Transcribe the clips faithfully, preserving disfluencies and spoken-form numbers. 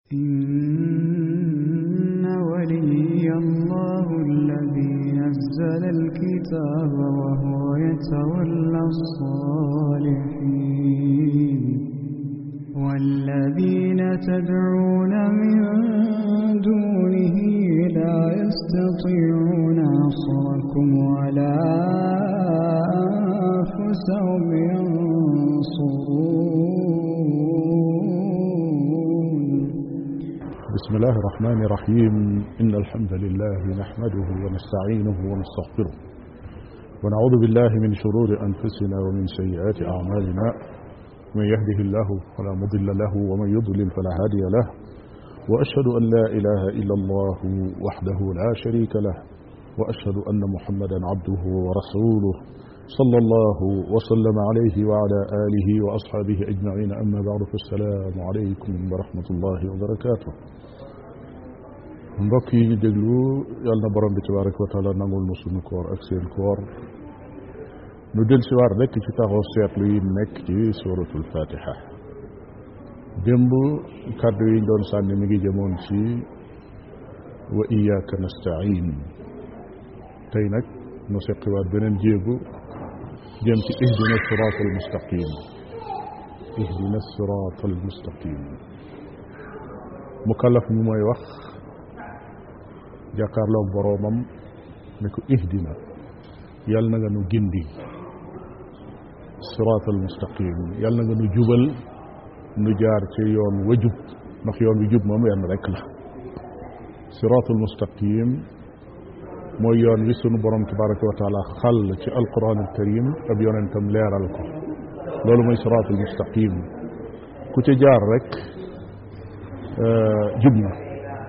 إن ولي الله الذي نزل الكتاب وهو يتولى الصالحين والذين تدعون من دونه لا يستطيعون نصركم ولا أنفسهم ينصرون. بسم الله الرحمن الرحيم. إن الحمد لله نحمده ونستعينه ونستغفره ونعوذ بالله من شرور أنفسنا ومن سيئات أعمالنا. من يهده الله فلا مضل له ومن يضلل فلا هادي له، وأشهد أن لا إله إلا الله وحده لا شريك له، وأشهد أن محمدا عبده ورسوله صلى الله وسلم عليه وعلى آله وأصحابه أجمعين. أما بعد، فالسلام عليكم ورحمة الله وبركاته. mbokk yi ñu déglu yàlla na borom bi tabaraka wa taala nangul nu sunu koor ak seen koor. nu del si waar rekk ci taxaw seetlu yi nekk ci suratul fatiha. démb kàddu yi ñu doon sànni mi ngi jëmoon ci wa iyyaka nasta'in. tey nag nu seqiwaat beneen jéegu jëm ci ihdina siratal mustaqim. ihdina siratal mustaqim. mukallaf mi mooy wax jàkkaarloog boroomam ne ko ihdina, yàlla na nga nu gindi, siraatal mustaqim, yàlla na nga nu jubal nu jaar ci yoon wa jub, ndax yoon wi jub moom wenn rekk la. siraatal mustaqim mooy yoon wi sunu borom tabaraka wa taala xàll ci alquran al karim ab yonentam leeral ko. loolu mooy siraatal mustaqim. ku ca jaar rek jub na.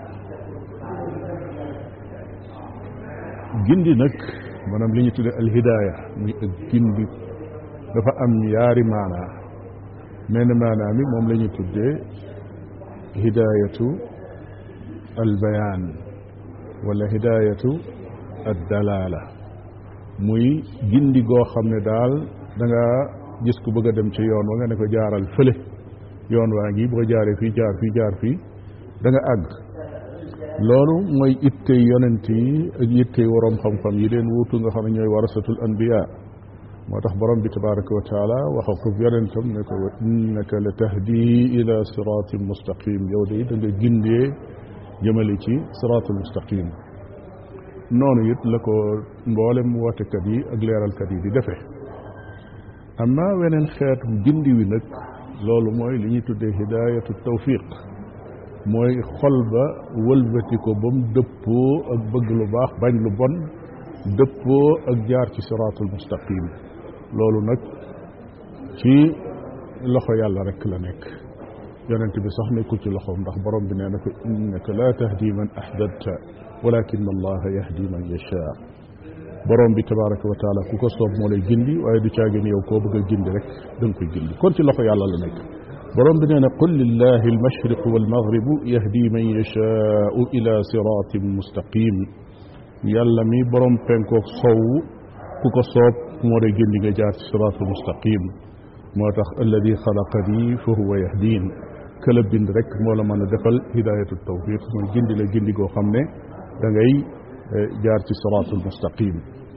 gindi nag maanaam li ñu tudde alhidaaya muy ak gindi dafa am yaari maanaa. menn maanaa mi moom la ñu tuddee hidaayatu albayaan wala hidaayatu addalaala, muy gindi goo xam ne daal da nga gis ku bëgg a dem ci yoon wa nga ne ko jaaral fële, yoon waa ngi boo jaaree fii jaar fii jaar fii da nga àgg. loolu mooy ittey yonent yi ak ittey waroom xam-xam yi leen wuutu nga xam ne ñooy warasatul anbiya. moo tax borom bi tabaraka wa taala waxa ko yonentam ne ko wa innaka la tahdi ila siratin mustaqim, yow de da nga gindee jëmale ci siratul mustaqim. noonu it la ko mboolem wootekat yi ak leeralkat yi di defee. amma weneen xeetu gindi wi nag loolu mooy li ñuy tuddee hidayatu tawfiq, mooy xol ba wëlbati ko ba mu dëppoo ak bëgg lu baax bañ lu bon, dëppoo ak jaar ci siraatul mustaqim. loolu nag ci loxo yàlla rek la nekk. yonent bi sax nekkul ci loxoom, ndax borom bi nee na ko innaka la tahdi man ahbabta walakin allaha yahdi man yasha. borom bi tabaraka wa taala ku ko soob moo lay gindi, waaye du caagin yow koo bëgg a gindi rek da nga koy gindi. kon ci loxo yàlla la nekk. borom bi nee na qul lillahi almashriqu walmaghribu yahdi man yashaau ila siratin mustaqim. yàlla mi borom penkook sow ku ko soob moo lay gindi nga jaar ci siratul mustaqim. moo tax alladi xalaqani fa huwa yahdin, këla bind rek moo la mën a defal hidayatu tawfiq, mooy gindi la gindi goo xam ne da ngay jaar ci siratul mustaqim.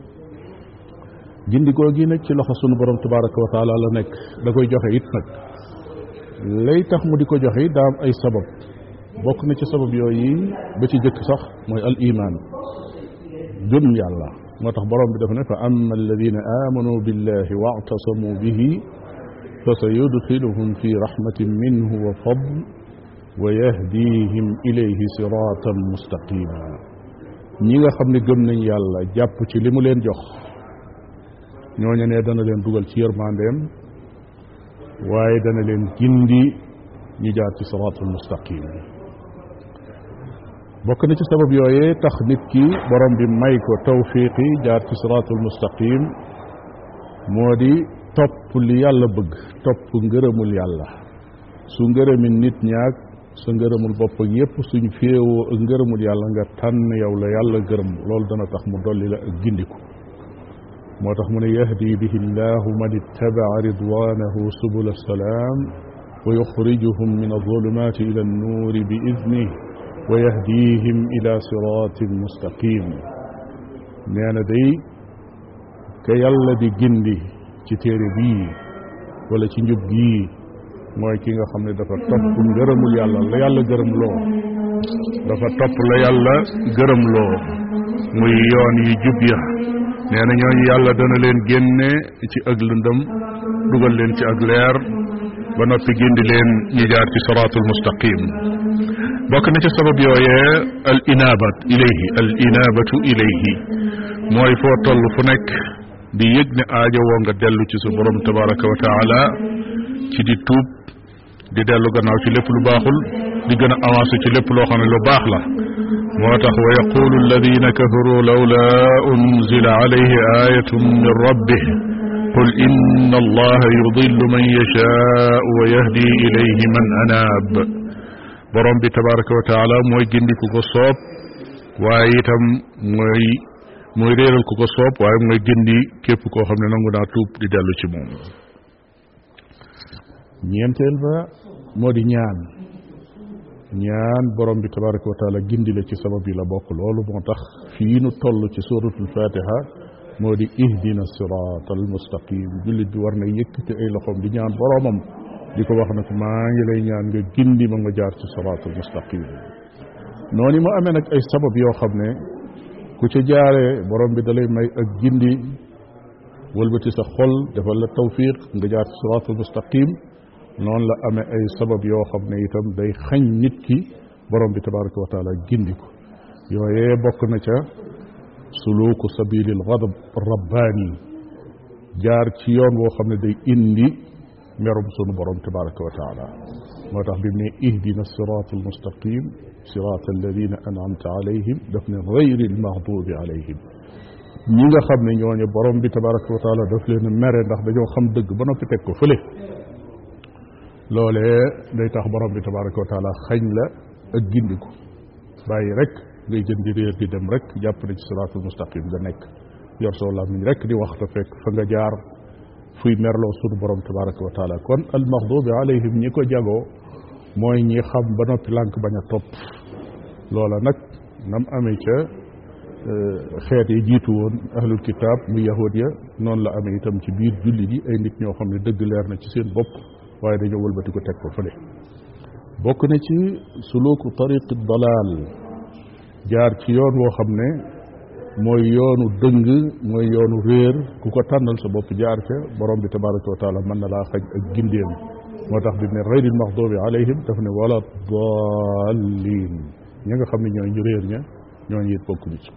gindi goo gi nag ci loxo sunu borom tabaraka wa taala la nekk. da koy joxe it nag lay tax mu di ko joxe daa am ay sabab. bokk na ci sabab yooyu ba ci jëkk sax mooy al iman, gëm yàlla. moo tax borom bi dafa ne fa amma alladina amanu billahi wa'tasamu bihi fa sayudxiluhum fi rahmatin minhu wa fadl wa yahdihim ilayhi siratan mustaqima. ñi nga xam ne gëm nañ yàlla jàpp ci li mu leen jox, ñooñu ne dana leen dugal ci yërmandeem, waaye dana leen gindi ñu jaar ci siraatul mustaqim. bokk na ci sabab yooyee tax nit ki borom bi may ko tawfiqi jaar ci siraatul mustaqim moo di topp li yàlla bëgg, topp ngërëmul yàlla. su ngërëmi nit ñaag sa ngërëmul bopp ak yépp suñ féewoo ak ngërëmul yàlla nga tànn yow la yàlla gërëm, loolu dana tax mu dolli la ak gindiku. moo tax mu ne yahdi bihi llahu man ittabaa ridwanahu subula salaam wa yuxrijuhum min alzulumaati ila annuuri bi idnih wa yahdihim ila siratin mustaqim nee na day ka yàlla di gindi ci téere bii wala ci njub gii mooy ki nga xam ne dafa topp ngërëmul yàlla la yàlla gërëm loo dafa topp la yàlla gërëm loo muy yoon yi jub ya nee na ñooñu yàlla dana leen génne ci ak lëndëm dugal leen ci ak leer ba noppi gindi leen ñi jaar ci siraatul mustaqim bokk na ci sabab yooyee al inabat ilayhi al inabatu ilayhi mooy foo toll fu nekk di yëg ne aajo woo nga dellu ci sa borom tabaraka wa taala ci di tuub di dellu gannaaw ci lépp lu baaxul di gën a avancé ci lépp loo xam ne lu baax la moo tax wa yaqulu alladina kafaru lawla unzila alayhi ayatun min rabbih qul inna allaha yudillu man yashaau wa yahdi ilayhi man anaab borom bi tabaraka wa taala mooy gindi ku ko soob waaye itam mooy mooy réeral ku ko soob waaye mooy gindi képp koo xam ne nangu naa tuub di dellu ci moom ñeenteel ba moo di ñaan ñaan borom bi tabaraka wa taala gindi la ci sabab yi la bokk loolu moo tax fii nu toll ci suratul fatiha moo di ihdina sirat al mustaqim jullit bi war na yëkkati ay loxoom di ñaan boromam di ko wax ne ko maa ngi lay ñaan nga gindi ma nga jaar ci sirat al mustaqim noonu mu amee nag ay sabab yoo xam ne ku ca jaaree borom bi dalay may ak gindi wëlbati sa xol defal la tawfiq nga jaar ci sirat al mustaqim noonu la amee ay sabab yoo xam ne itam day xañ nit ki borom bi tabaraka wa taala gindi ko yooyee bokk na ca suluku sabilil ghadab rabbaani jaar ci yoon woo xam ne day indi merum sunu borom tabaraka wa taala moo tax bi mu ne ihdina sirat al mustaqim sirat alladina an'amta alayhim daf ne gayri al maghdubi alayhim ñi nga xam ne ñooñu borom bi tabaraka wa taala daf leen mere ndax dañoo xam dëgg ba noppi teg ko fële loolee day tax borom bi tabaraka wa taala xañ la ak gindiku bàyyi rek ngay jën di réer di dem rek jàpp ne ci siraatul mustaqim nga nekk yor soo làmmiñ rek di wax te fekk fa nga jaar fuy merloo sunu borom tabaraka wa taala kon al maxdubi alayhim ñi ko jagoo mooy ñi xam ba noppi lànk bañ a topp loola nag nam amee ca xeet yi jiitu woon ahlul kitaab muy yahud ya noonu la amee itam ci biir julli yi ay nit ñoo xam ne dëgg leer na ci seen bopp waaye dañoo wëlbati ko teg ko fële bokk na ci suluku tariqi dalaal jaar ci yoon woo xam ne mooy yoonu dëng mooy yoonu réer ku ko tànnal sa bopp jaar ca borom bi tabaraka wa taala mën na laa xaj ak gindeem moo tax bi ne gayril maxdubi alayhim daf ne wala dallin ñi nga xam ne ñooy ñu réer ña ñooñu it bokk ci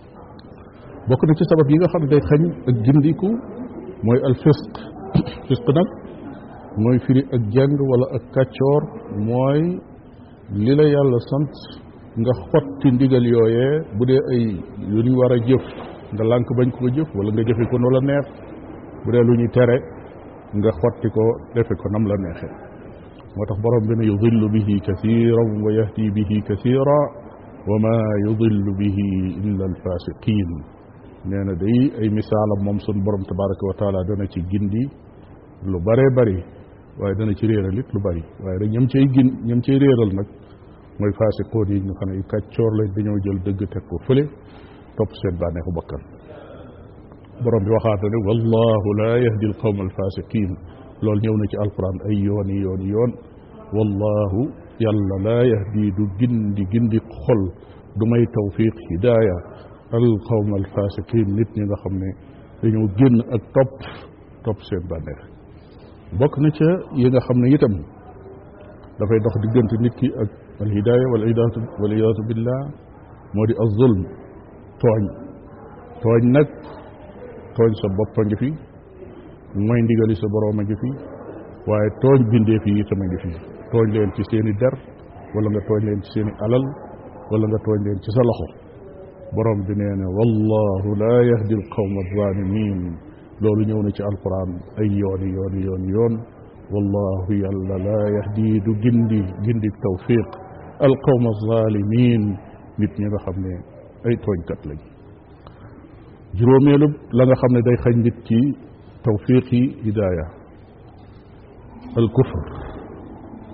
bokk na ci sabab yi nga xam ne day xañ ak gindiku mooy al fisq fisq nag mooy firi ak jàng wala ak kàccoor mooy li la yàlla sant nga xotti ndigal yooyee bu dee ay lu ñu war a jëf nga lànk bañ ko jëf wala nga jëfe ko no la neex bu dee lu ñuy tere nga xotti ko defe ko nam la neexee moo tax borom bi ne yudillu bihi kathiran wa yahdi bihi kathira wa ma yudillu bihi illa alfasiqin nee na day ay misaalam moom sun borom tabaraka wa taala dana ci gindi lu bare bari waaye dana ci réeral it lu bari waaye rek ñam cay gin ñam cay réeral nag mooy faasiqoon yi ñu xam ne kàccoor lañ dañoo jël dëgg teg ko fële topp seen bànneexu bakkan borom bi waxaata ne wallahu la yahdi al qawma al fasiqin loolu ñëw na ci alquran ay yoon yi yoon yoon wallahu yàlla la yahdi du gindi gindi xol du may tawfiq hidaaya al qawma al fasiqin nit ñi nga xam ne dañoo génn ak topp topp seen bànneex bokk na ca yi nga xam ne itam dafay dox diggante nit ki ak al hidaaya wal idaatu wal idaatu billah moo di az zulm tooñ tooñ nag tooñ sa bopp a ngi fi mooy ndigali sa boroom a ngi fi waaye tooñ bindee fi itam a ngi fi tooñ leen ci seeni der wala nga tooñ leen ci seeni alal wala nga tooñ leen ci sa loxo borom bi nee na wallahu la yahdi al qawma zalimin loolu ñëw na ci alquran ay yooni yooni yooni yoon wallahu yàlla la yahdi du gindi gindi tawfiq al qawma zalimin nit ñi nga xam ne ay tooñkat lañ juróomeelu la nga xam ne day xañ nit ci tawfiqi hidaaya al kufr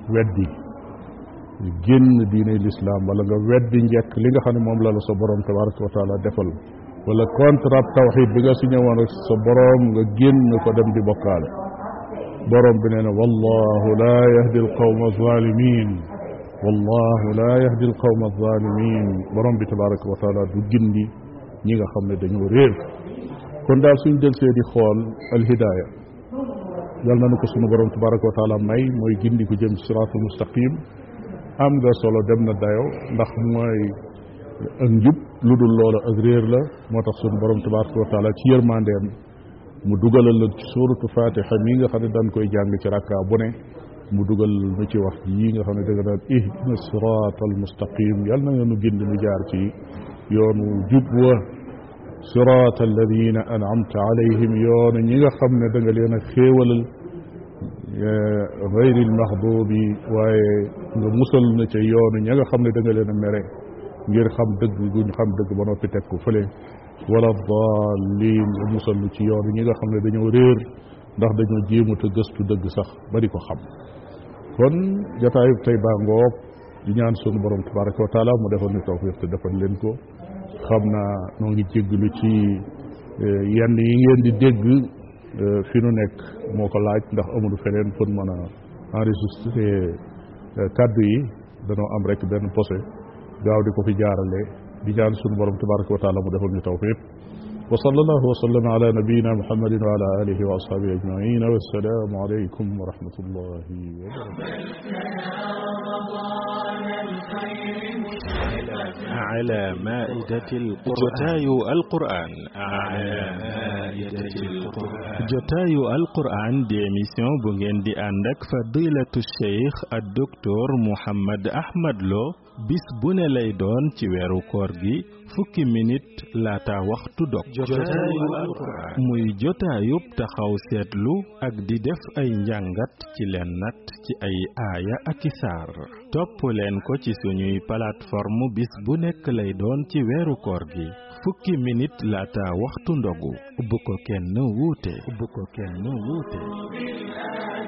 weddi génn diine l'islam wala nga weddi njëkk li nga xam ne moom la la sa borom tabaraka wa taala defal wala contrat tawxid bi nga signé woon ak sa borom nga génn ko dem di bokkaale borom bi nee na wallahu la yahdi alqawma alzalimin wallahu la yahdi alqawma alzalimin borom bi tabaraka wa taala du gindi ñi nga xam ne dañoo réer kon daal suñ del see di xool alhidaaya yal na nu ko sunu borom tabaraka wa taala may mooy gindi ko jëm siraatul mustaqim am nga solo dem na dayo ndax mooy ak njub lu dul loola ak réer la moo tax sunu borom tabaraka wa taala ci yërmandeem mu dugalal la ci suuratu fatiha mi nga xam ne daan koy jàng ci rakka bu ne mu dugal nu ci wax yi nga xam ne danga daan ihdina siraatal mustaqim yal na nga nu gindi nu jaar ci yoonu jub wa siraat alladina an'amta alayhim yoonu ñi nga xam ne da nga leen a xéewalal gayri almaxdubi waaye nga musal na ca yoonu ña nga xam ne da nga leen a mere ngir xam dëgg guñ xam dëgg ba noppi teg ko fële wala daalin nga musal nu ci yoonu ñi nga xam ne dañoo réer ndax dañoo jéemut a gëstu dëgg sax ba di ko xam kon jataayub tey baa ngoog di ñaan sunu borom tabaraka wa taala mu defal ñu tawfiq te defal leen ko xam naa noo ngi jégglu ci yenn yi ngeen di dégg fi nu nekk moo ko laaj ndax amul feneen fën mën a enregistré kàddu yi danoo am rek benn posé gaaw di ko fi jaarale di ñaan sunu borom tabaraka wa taala mu defal ñu tawfiq wa sallallahu wa sallam ala nabiyina muhammadin wa ala alihi wa ashabihi ajmain wa assalaamu alaykum wa rahmatullahi wa barakatuh على مائدة القرآن جتاي القرآن على مائدة القرآن جتاي القرآن دي émission bu ngeen di ànd ak fadilatu cheikh ak docteur Mouhammad Ahmad Lo bis bu ne lay doon ci weeru koor gi fukki minute laata waxtu dog jotaayu alquran muy jotaayub taxaw seetlu ak di def ay njàngat ci leen nat ci ay aaya ak i saar topp leen ko ci suñuy plateforme bis bu nekk lay doon ci weeru koor gi fukki minute laata waxtu ndogu bu ko kenn wuute bu ko kenn wuute